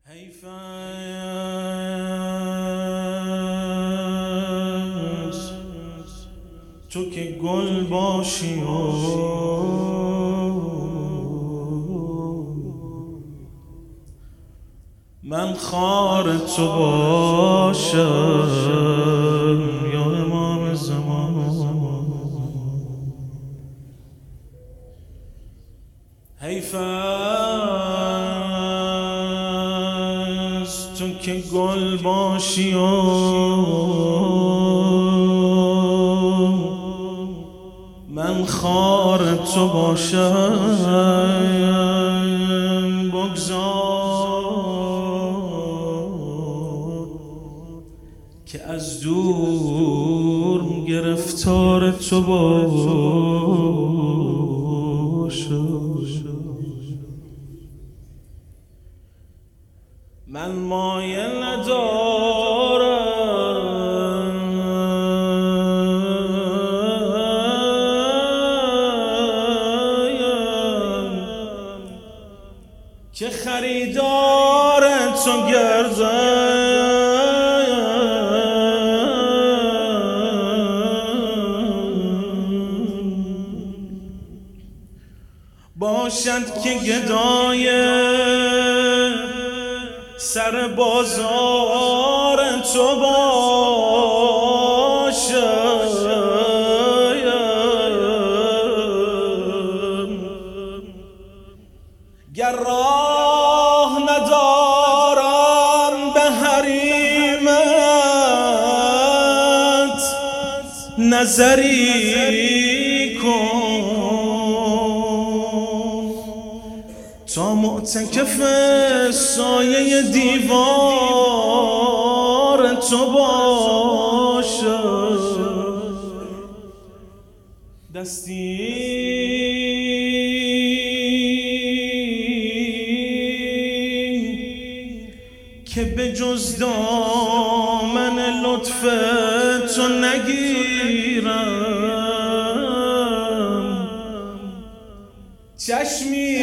حیف است تو که گل باشی و من خار تو باشم یا امام زمان. حیف است تو که گل باشی و من خار تو باشم. بگذار که از دور گرفتار تو باشم. من مایل ندارم که خریدار تو گردم، باشد که گدای سر بازار تو باشم. گر راه ندارم به حریمت نظری کن تا معتکف سایه دیوار تو باشم. دستی که به جز دامن لطف تو نگیرم، چشمی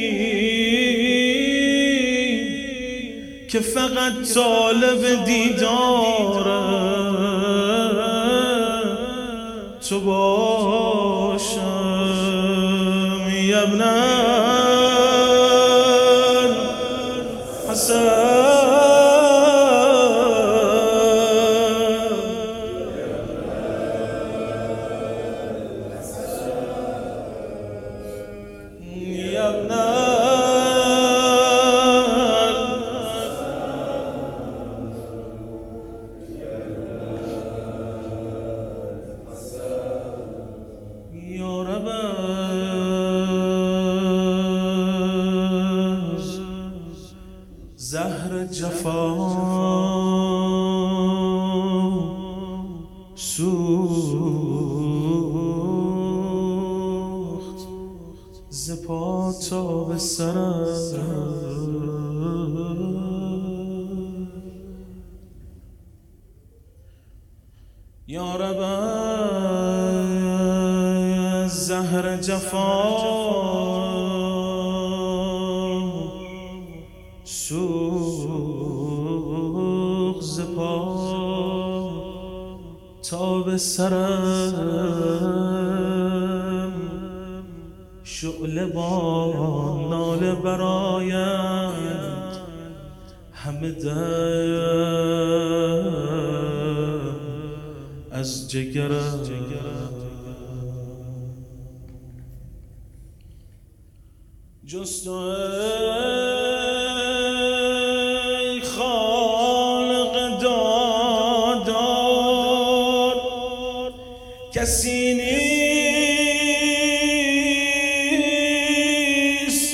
که فقط طالب دیدار تو باشم. یا ابن الحسن زهر جفا سوخت ز پا تا به سرم. یا رب از زهر جفا سوخت ز پا تا به سرم. شعله با ناله برآیند همه دم از جگرم. جز تو ای خالق دادار کسی نیست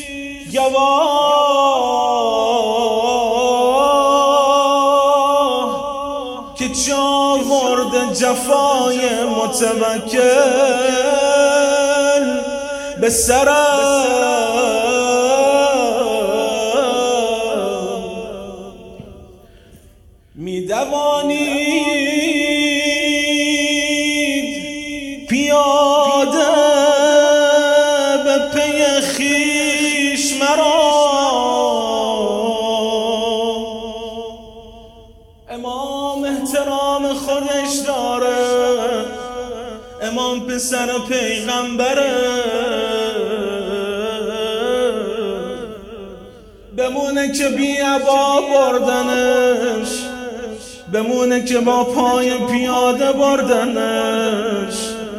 گواه که چاورد جفای متوکل به سرم. می دوانید پیاده به پی خویش مرا پسر پیغمبره، بمونه که بی عبا بردنش، بمونه که با پای پیاده بردنش،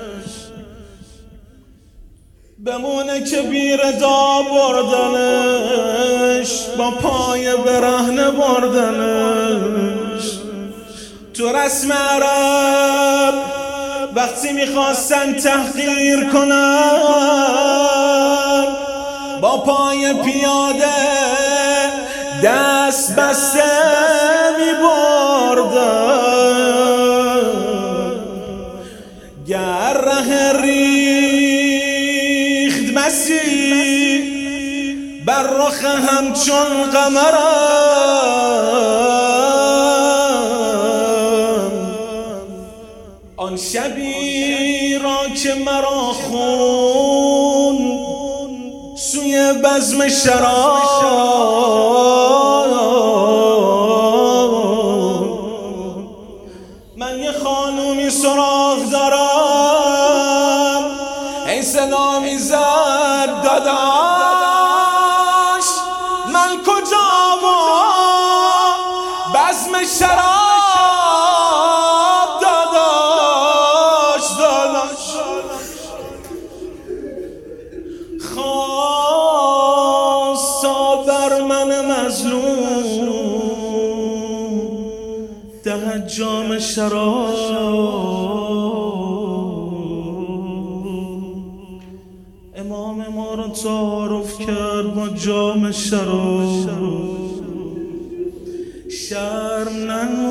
بمونه که بی رضا بردنش، با پای برهنه بردنش. تو رسم عرب وقتی میخواستن تحقیر کنن، با پای پیاده دست بسته میبردن. گر ره ریخت مسیح بر رخ همچون قمرم، آن شبی را که مرا خون سوی بزم شراب، من یه خانومی سراغ دارم، این صدا میزد داداش من کجا و بزم شراب داداش خواستا بر من مظلوم دهد جام شراب. امام ما را تعارف کرد با جام شراب، شرم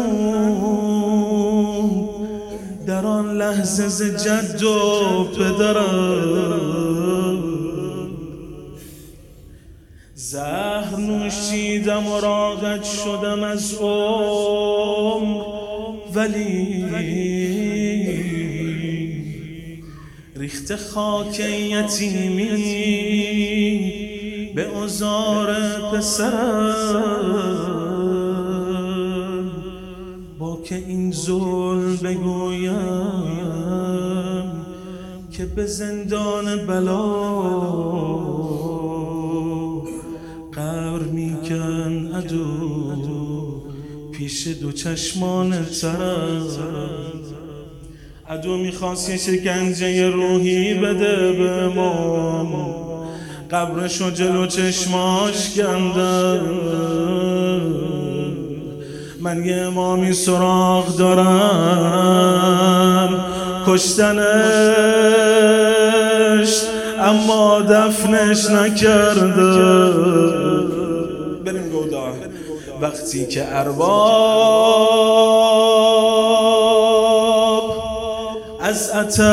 ننمود در آن لحظه ز جد و پدرم. زهر نوشیدم و راقد شدم از عمر، ولی ریخت خاک یتیمی به عذار پسرم. با که این ظلم بگویم که به زندان بلا قبر میکن عدو پیش دو چشمان ترم. عدو میخواست یه شکنجه روحی بده به امام، قبرشو جلو چشماش کندم. من یه امامی سراغ دارم کشتنش، اما دفنش نکردم. بریم گودا وقتی که ارباب از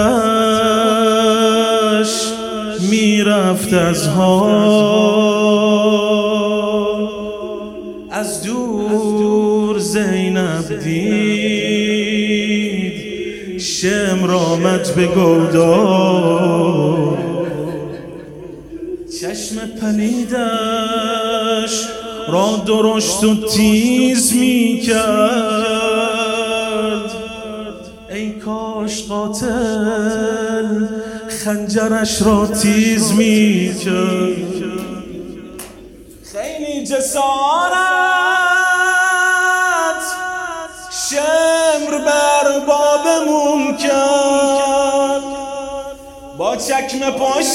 آتش میرفت از حال، از دور زینب دید شمر آمد به گودا، چشم پلیدش را درشت و تیز می کرد. ای کاش قاتل خنجرش را تیز می کرد. خیلی جسارت شمر بر بابمون کرد، با چکمه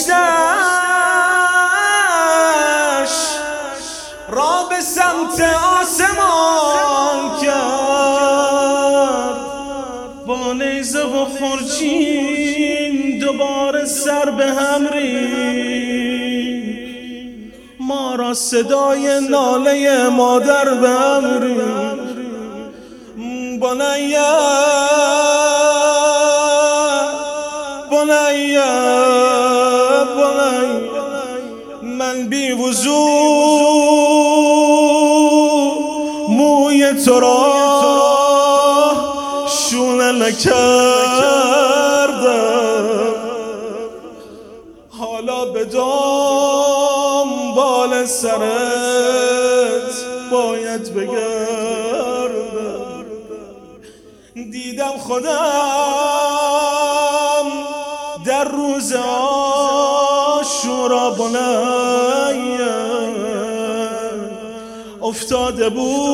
پشتش را به سمت آسمان کرد. با نیزه و خورچین دوباره سر به هم ریخت، ما را صدای ناله مادر به هم ریخت. بنیه بنیه بنیه من بی وضو موی تو را شونه نکردم، حالا به دنبال سرت باید بگردم. دیدم خودم در روز عاشورا بنی افتاده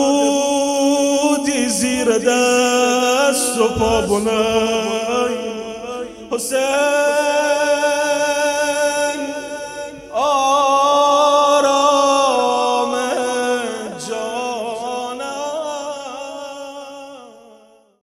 بودی زیر دست و پا بنی حسین